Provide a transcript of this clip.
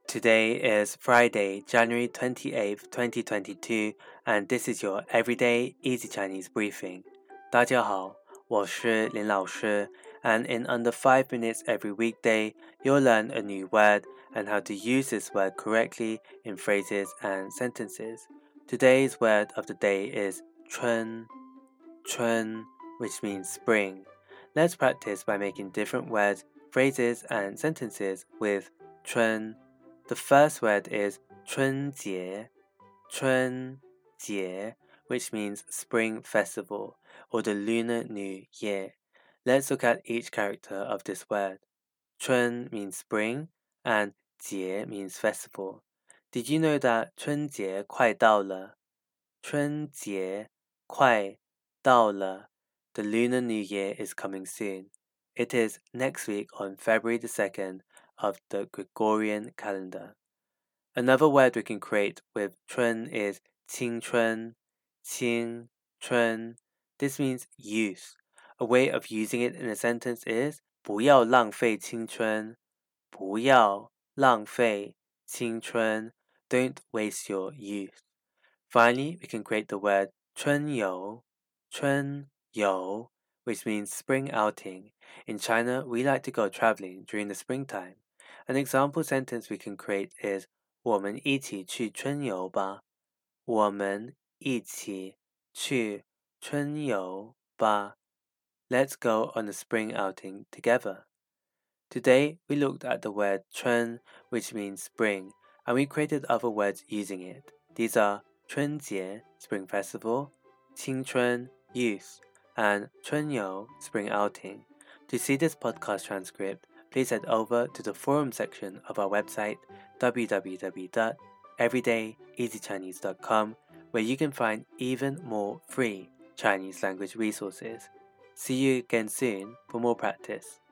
Today is Friday, January 28th, 2022, and this is your Everyday Easy Chinese Briefing. 大家好，我是林老师, and in under 5 minutes every weekday, you'll learn a new word and how to use this word correctly in phrases and sentences. Today's word of the day is 春, which means spring. Let's practice by making different words, phrases, and sentences with 春.The first word is 春节, which means spring festival or the Lunar New Year. Let's look at each character of this word. 春 means spring and 节 means festival. Did you know that 春节快到了? 春节快到了. The Lunar New Year is coming soon. It is next week on February the 2nd of the Gregorian calendar. Another word we can create with 春 is 青春. This means youth. A way of using it in a sentence is 不要浪费青春. 不要浪费青春. Don't waste your youth. Finally, we can create the word 春游, which means spring outing. In China, we like to go traveling during the springtime. An example sentence we can create is 我们一起去春游吧。我们一起去春游吧。Let's go on a spring outing together. Today, we looked at the word 春, which means spring, and we created other words using it. These are 春节, spring festival, 青春, youth, and 春游, spring outing. To see this podcast transcript, please head over to the forum section of our website, www.everydayeasychinese.com, where you can find even more free Chinese language resources. See you again soon for more practice.